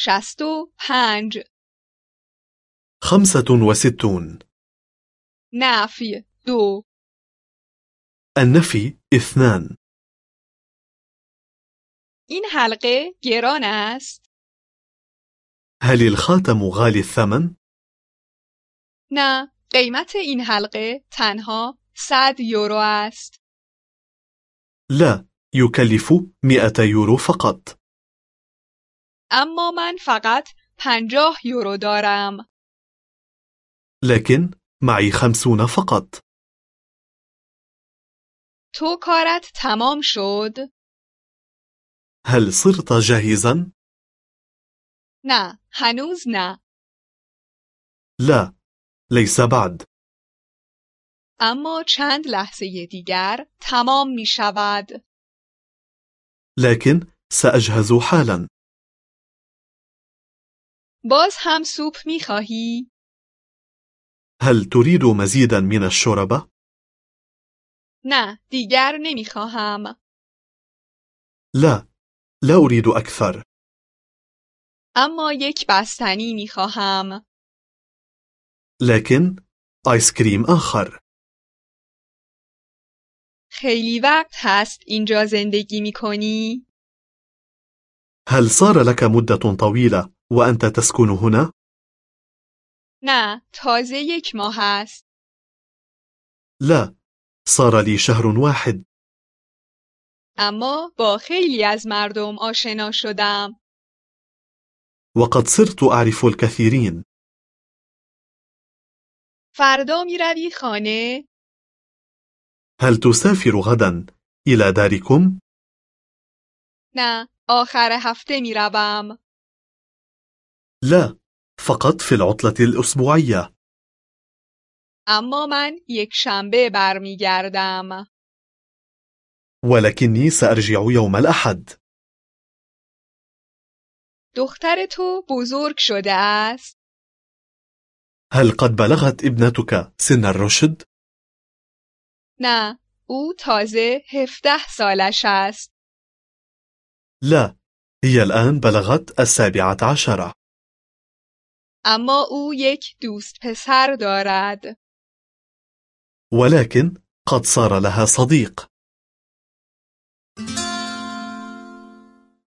65 65 نفی 2 النفي 2 این حلقه گران است؟ هل الخاتم غالي الثمن؟ نه، قیمت این حلقه تنها 100 یورو است. لا، يكلف 100 يورو فقط. اما من فقط 50 یورو دارم. لكن معي 50 فقط. تو کارت تمام شد؟ هل صرت جاهزا؟ نه، هنوز نه. لا، ليس بعد. اما چند لحظه دیگر تمام می شود. لكن سأجهز حالا. باز هم سوپ می خواهی؟ هل تريد مزيدا من الشوربة؟ نه، دیگر نمی خواهم. لا، لا أريد أكثر. اما یک بستنی می خواهم. لكن آيس كريم آخر. خیلی وقت هست اینجا زندگی می کنی؟ هل صار لك مدة طويلة وأنت تسكن هنا؟ نه، تازه 1 ماه است. لا، صار لي شهر واحد. اما با خیلی از مردم آشنا شدم. وقد صرت أعرف الكثيرين. فردا می روی خانه؟ هل تسافر غدا إلى داركم؟ نه، آخر هفته می روم. لا، فقط في العطلة الأسبوعية. اما من 1 شنبه برمی گردم. ولكني سأرجع يوم الأحد. دختر تو بزرگ شده است؟ هل قد بلغت ابنتك سن الرشد؟ نه، او تازه 17 سالش است. لا، هي الآن بلغت 17. اما او یک دوست پسر دارد. ولكن قد صار لها صديق.